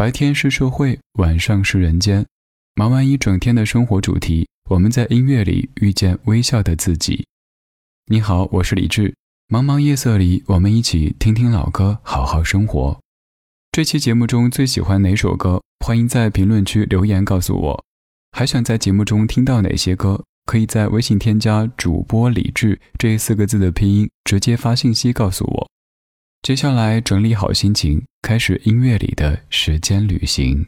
白天是社会，晚上是人间。忙完一整天的生活主题，我们在音乐里遇见微笑的自己。你好，我是李志。茫茫夜色里，我们一起听听老歌，好好生活。这期节目中最喜欢哪首歌？欢迎在评论区留言告诉我。还想在节目中听到哪些歌？可以在微信添加主播李志这4个字的拼音，直接发信息告诉我。接下来整理好心情，开始音乐里的时间旅行。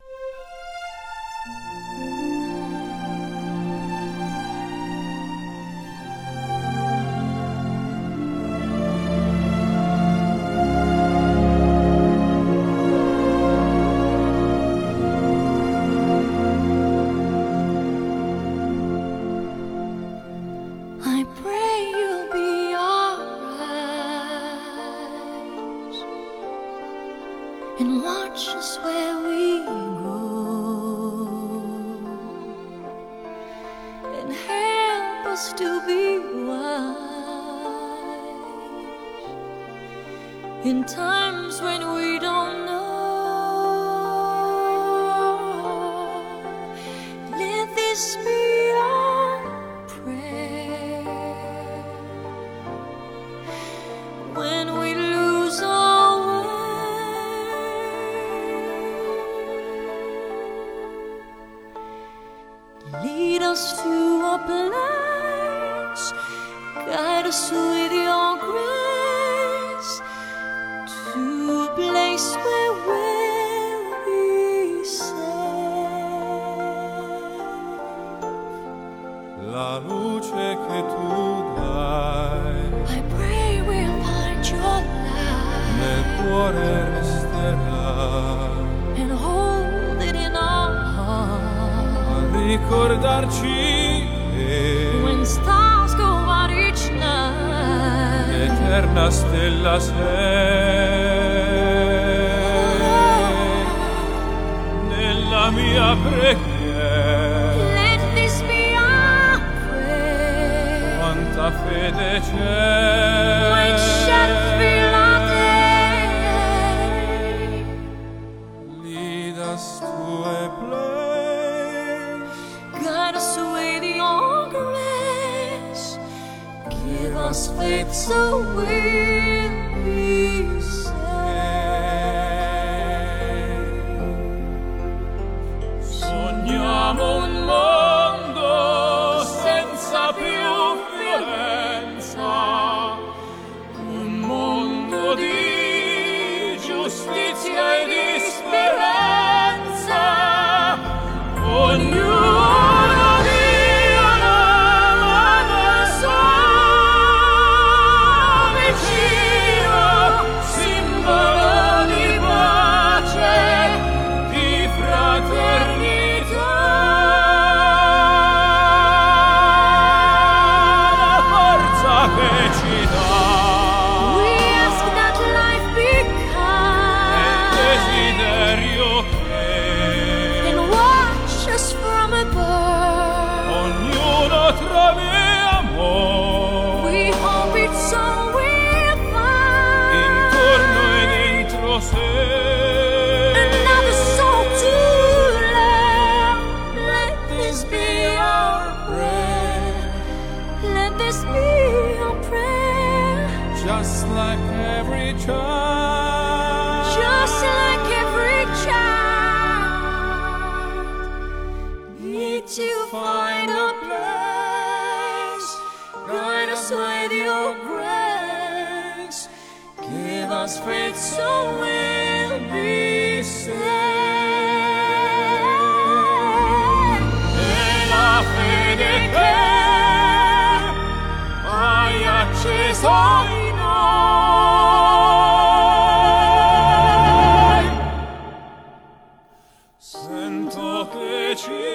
And watch us where we go, and help us to be wise in times when we don't know. Let this be our prayer when we lose our way. Lead us to a place, guide us with your grace, to a place where we'll be safe. La luce che tu dai, I pray we'll find your light nel cuore resterà, and hold it in our heart. Ricordarci che When stars go out each night, l'eterna stella sei nella mia preghiera. let this be our prayer. Quanta fede c'è, When shadows fill our day, lead us to a place, guide us with your grace, give us faith so we'll be safe. Sogniamo un mondo senza più violenza, un mondo di giustizia e di speranza. Ognuno dia una mano al suo vicino, simbolo di pace, di fraternità. La forza che ci dà We ask that life be il kind desiderio che and watch us from above. ognuno trovi amore We hope it's all we'll find. intorno e dentro sé. Another soul to love. Let this be our prayer. Let this be our prayer. Just like every child, Just like every child, need to find a place. Guide us with your grace. Give us faith so we'll be safe. e la fede che hai acceso in noi. Sento che ci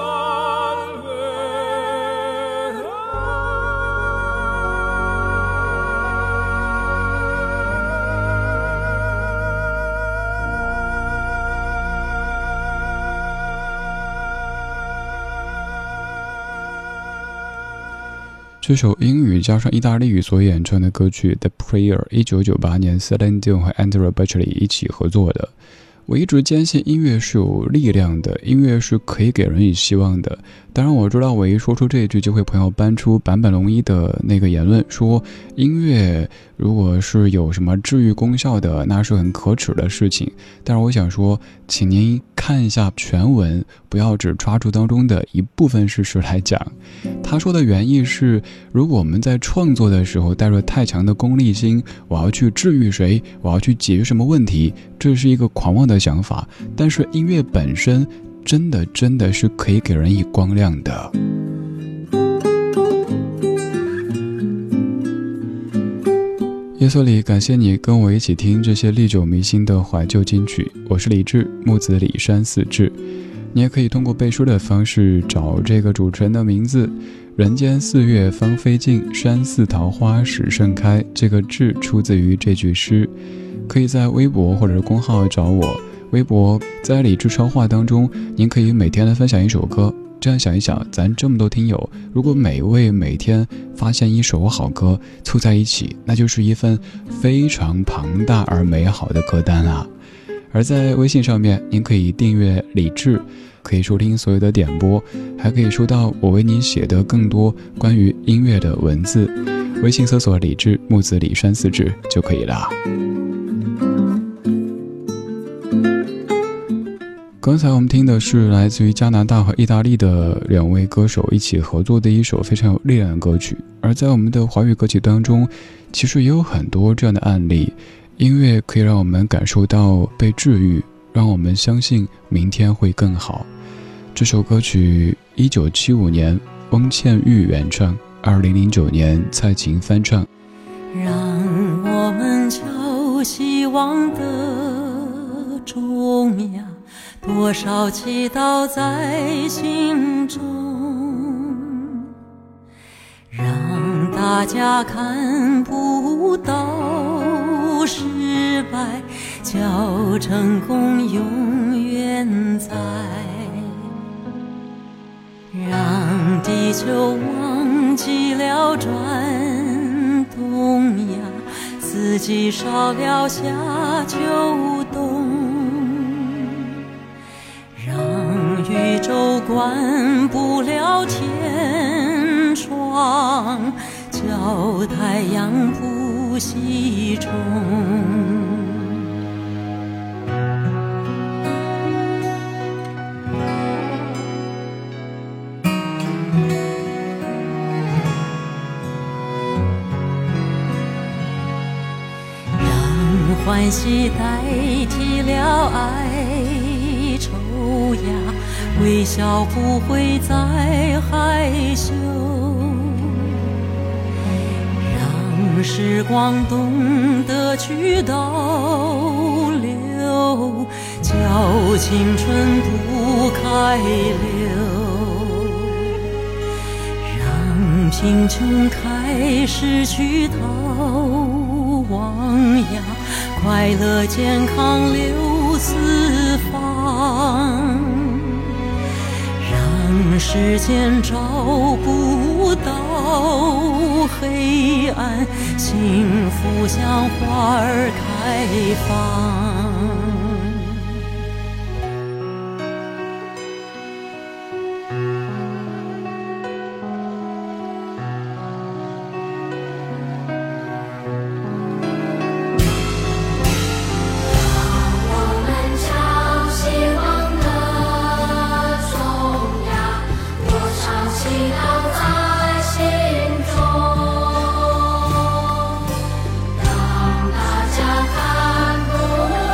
salverà. 这首英语加上意大利语所演唱的歌曲《The Prayer》，1998年 Celine Dion 和 Andrea Bocelli 一起合作的。 我一直坚信音乐是有力量的，音乐是可以给人以希望的。当然我知道我一说出这一句就会朋友搬出坂本龙一的那个言论，说音乐如果是有什么治愈功效的，那是很可耻的事情。但是我想说，请您看一下全文，不要只抓住当中的一部分事实来讲。他说的原意是，如果我们在创作的时候带着太强的功利心，我要去治愈谁，我要去解决什么问题，这是一个狂妄的想法。但是音乐本身真的是可以给人以光亮的。夜色里，感谢你跟我一起听这些历久弥新的怀旧金曲。我是李志，木子李山四志。你也可以通过背书的方式找这个主持人的名字。人间四月芳菲尽，山寺桃花始盛开。这个志出自于这句诗。可以在微博或者是公号找我。微博在李志超话当中，您可以每天来分享一首歌。这样想一想，咱这么多听友，如果每位每天发现一首好歌凑在一起，那就是一份非常庞大而美好的歌单啊。而在微信上面，您可以订阅李志，可以收听所有的点播，还可以收到我为您写的更多关于音乐的文字。微信搜索李志，木子李山四志就可以了。刚才我们听的是来自于加拿大和意大利的两位歌手一起合作的一首非常有力量的歌曲。而在我们的华语歌曲当中，其实也有很多这样的案例。音乐可以让我们感受到被治愈，让我们相信明天会更好。这首歌曲1975年翁倩玉原唱，2009年蔡琴翻唱。 让我们敲希望的钟呀，多少祈祷在心中，让大家看不到失败，叫成功永远在，让地球忘记了转动呀，四季少了夏秋冬，让宇宙关不了天窗，叫太阳不西冲。让欢喜代替了哀愁呀，微笑不会再害羞，让时光懂得去倒流，叫青春不开溜，让贫穷开始去逃亡呀，快乐健康流四方，让时间找不到黑暗，幸福像花儿开放。 让大家看不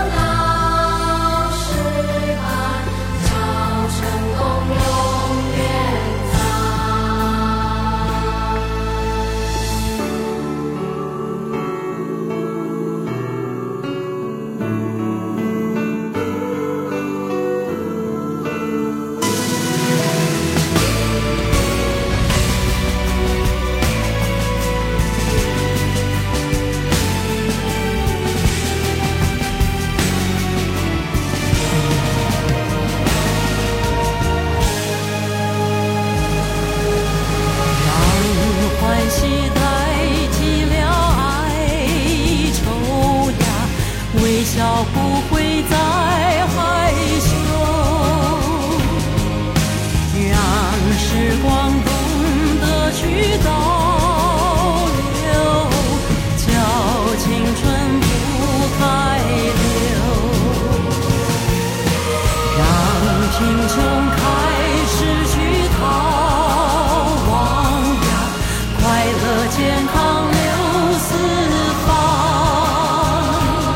贫穷开始去逃亡呀，快乐健康流四方，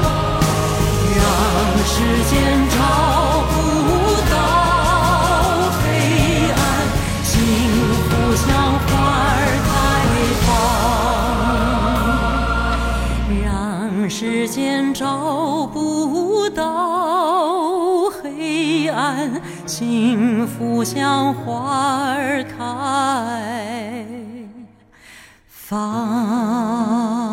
让时间找不到黑暗，幸福像花儿开放，让时间找不到黑暗，幸福像花儿开放。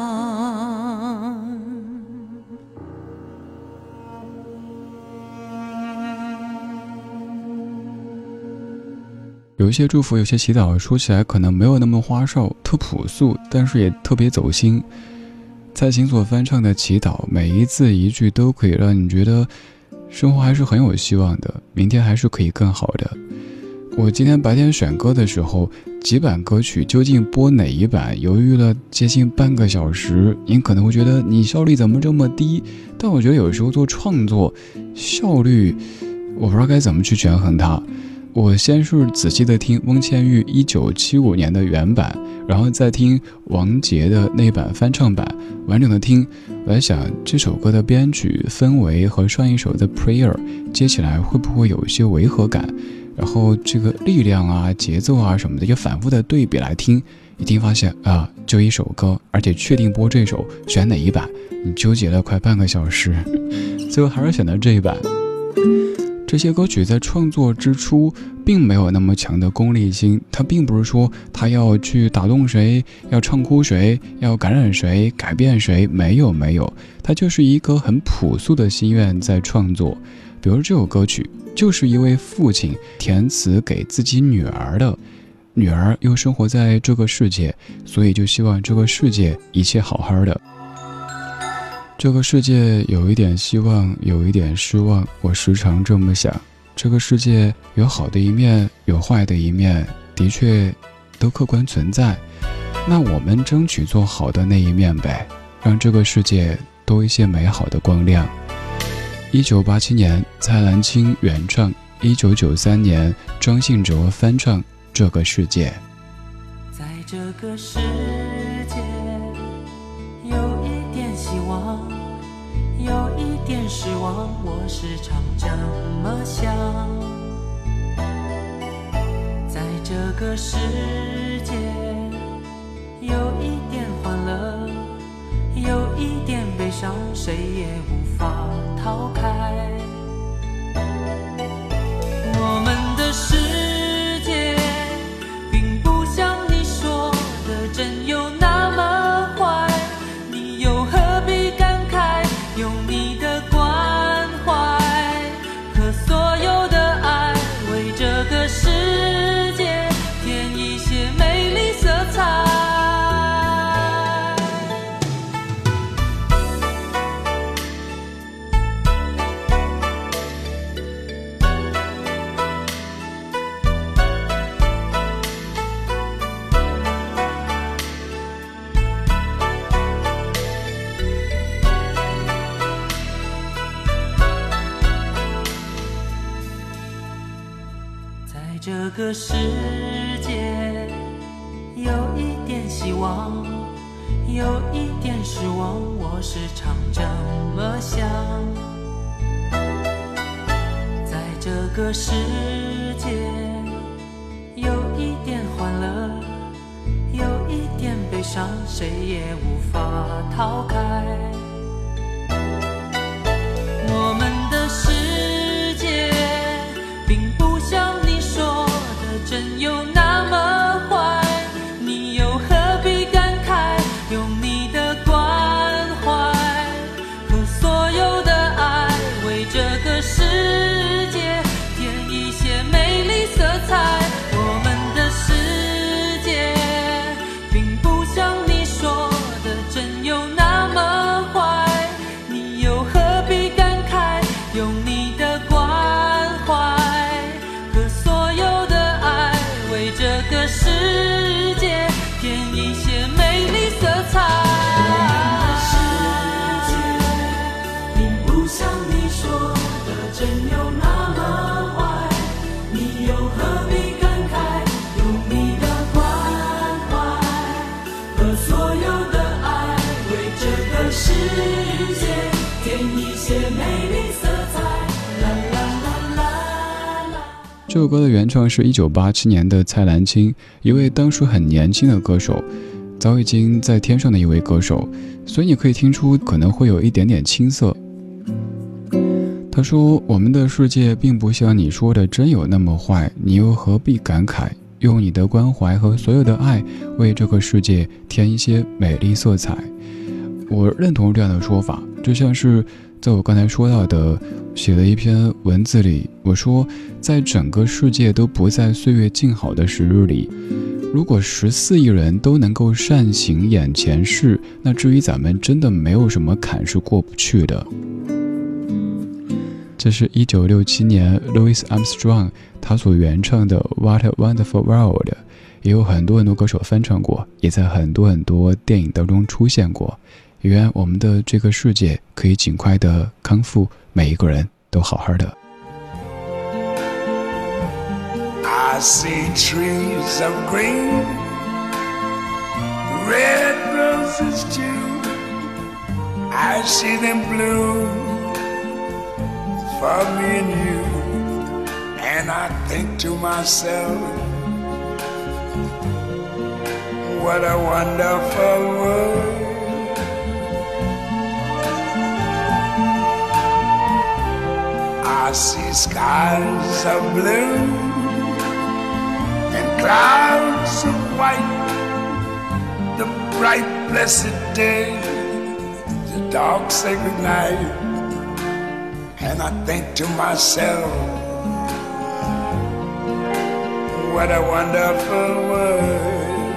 有一些祝福，有些祈祷，说起来可能没有那么花哨，特朴素，但是也特别走心。蔡琴所翻唱的祈祷，每一字一句都可以让你觉得生活还是很有希望的，明天还是可以更好的。我今天白天选歌的时候，几版歌曲究竟播哪一版，犹豫了接近半个小时。您可能会觉得你效率怎么这么低，但我觉得有时候做创作效率，我不知道该怎么去权衡它。我先是仔细的听翁倩玉1975年的原版，然后再听王杰的那版翻唱版，完整的听。我在想这首歌的编曲氛围和上一首的 Prayer 接起来会不会有一些违和感，然后这个力量啊节奏啊什么的也反复的对比来听，一听发现啊就一首歌，而且确定播这首，选哪一版你纠结了快半个小时，最后还是选择这一版。这些歌曲在创作之初并没有那么强的功利心，它并不是说它要去打动谁，要唱哭谁，要感染谁，改变谁，没有，它就是一个很朴素的心愿在创作。比如这首歌曲就是一位父亲填词给自己女儿的，女儿又生活在这个世界，所以就希望这个世界一切好好的。这个世界有一点希望，有一点失望，我时常这么想。这个世界有好的一面，有坏的一面，的确都客观存在。那我们争取做好的那一面呗，让这个世界多一些美好的光亮。1987年蔡澜清原唱，1993年张信哲翻唱《这个世界》。 在这个世界有一点希望，有一点失望，我时常这么想。在这个世界有一点欢乐，有一点悲伤，谁也无法逃开。我们的世界并不像你说的真有那么坏，你又何必感慨，用你的关怀和所有的爱，为这个世界添一些美丽色彩。这个世界有一点希望，有一点失望，我时常这么想。在这个世界有一点欢乐，有一点悲伤，谁也无法逃开。我们的世界并不像你说的真有那么坏，你又何必感慨，用你的关怀和所有的爱，为这个世界添一些美丽色彩。我们的世界并不像你说的真有那么坏，你又何必感慨，用你的关怀和所有的爱，为这个世界添一些美丽色彩。我们的世界并不像你说的真有那么坏， 美丽色彩，啦啦啦啦啦。 这首歌的原创是1987年的蔡澜清，一位当时很年轻的歌手，早已经在天上的一位歌手，所以你可以听出可能会有一点点青涩。他说，我们的世界并不像你说的真有那么坏，你又何必感慨，用你的关怀和所有的爱为这个世界添一些美丽色彩。我认同这样的说法，就像是在我刚才说到的写的一篇文字里，我说在整个世界都不再岁月静好的时日里，如果14亿人都能够善行眼前事，那至于咱们真的没有什么坎是过不去的。这是1967年 Louis Armstrong 他所原唱的 What a Wonderful World， 也有很多歌手翻唱过，也在很多电影当中出现过。愿我们的这个世界可以尽快的康复，每一个人都好好的。 I see trees of green, red roses too. I see them bloom for me and you. And I think to myself, what a wonderful world. I see skies of blue and clouds of white, the bright blessed day, the dark sacred night. And I think to myself, what a wonderful world.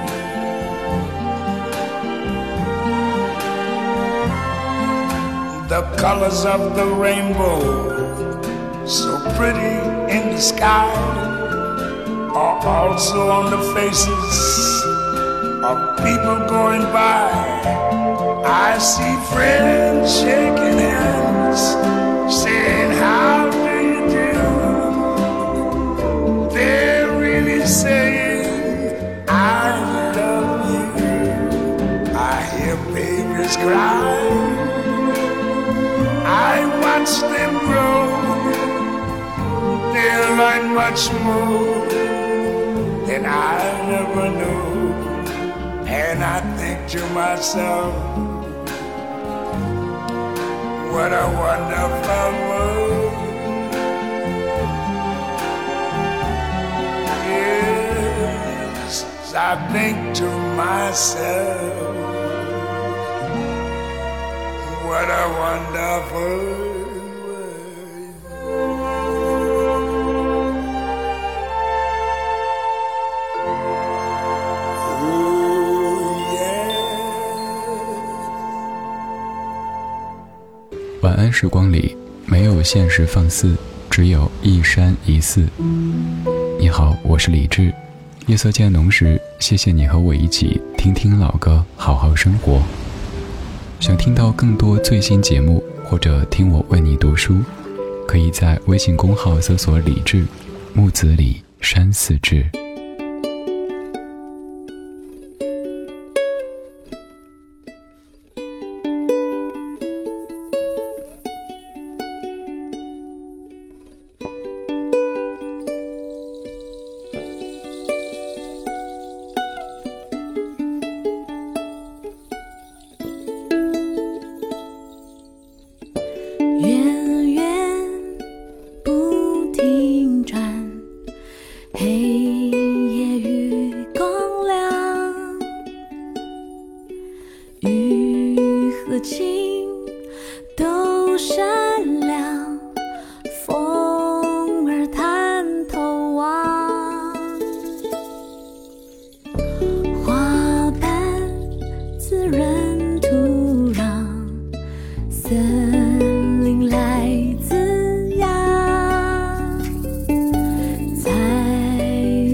The colors of the rainbow, so pretty in the sky, are also on the faces of people going by. I see friends shaking hands, saying, how do you do? They're really saying, I love you. I hear babies cry, I watch them grow. They'll learn much more than I never knew. And I think to myself, what a wonderful world. Yes, I think to myself, what a wonderful world. 晚安时光里没有现实放肆，只有一山一寺。你好，我是李志。夜色渐浓时，谢谢你和我一起听听老歌，好好生活。想听到更多最新节目，或者听我为你读书，可以在微信公号搜索李志，木子李，山寺志。 源源不停转，黑夜与光亮，雨和晴都闪亮，风儿探头望，花瓣滋润土壤，森林来滋养，彩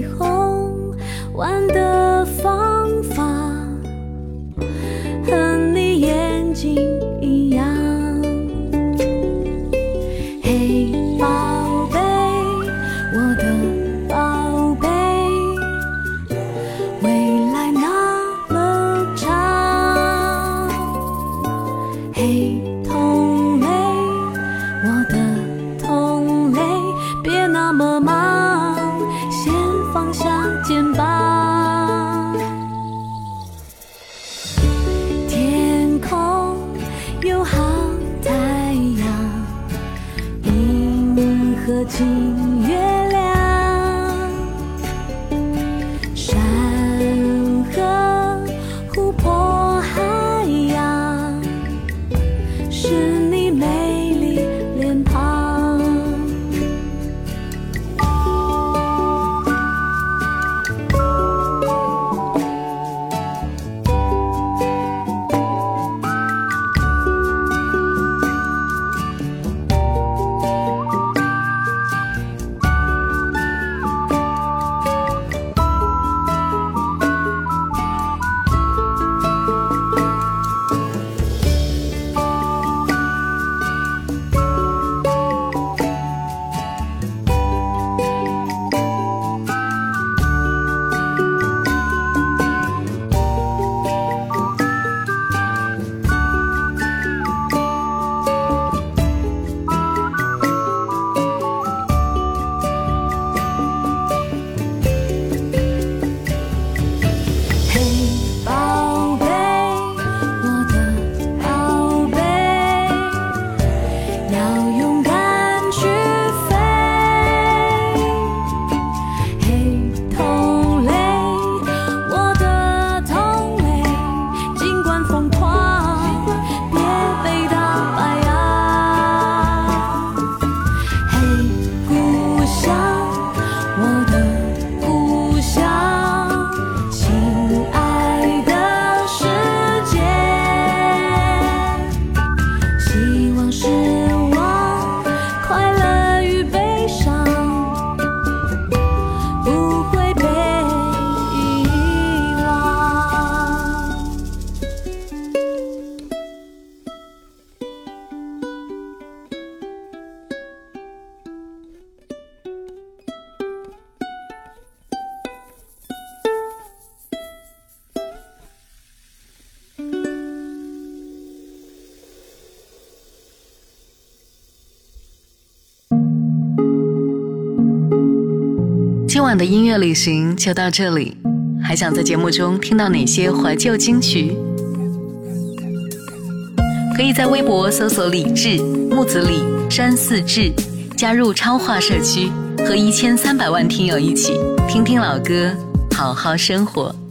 下肩膀。天空有好太阳，银河近月亮，山河湖泊海洋，是你美丽脸庞。 今晚的音乐旅行就到这里，还想在节目中听到哪些怀旧金曲？可以在微博搜索李志、木子李、山寺志，加入超话社区，和1300万听友一起听听老歌，好好生活。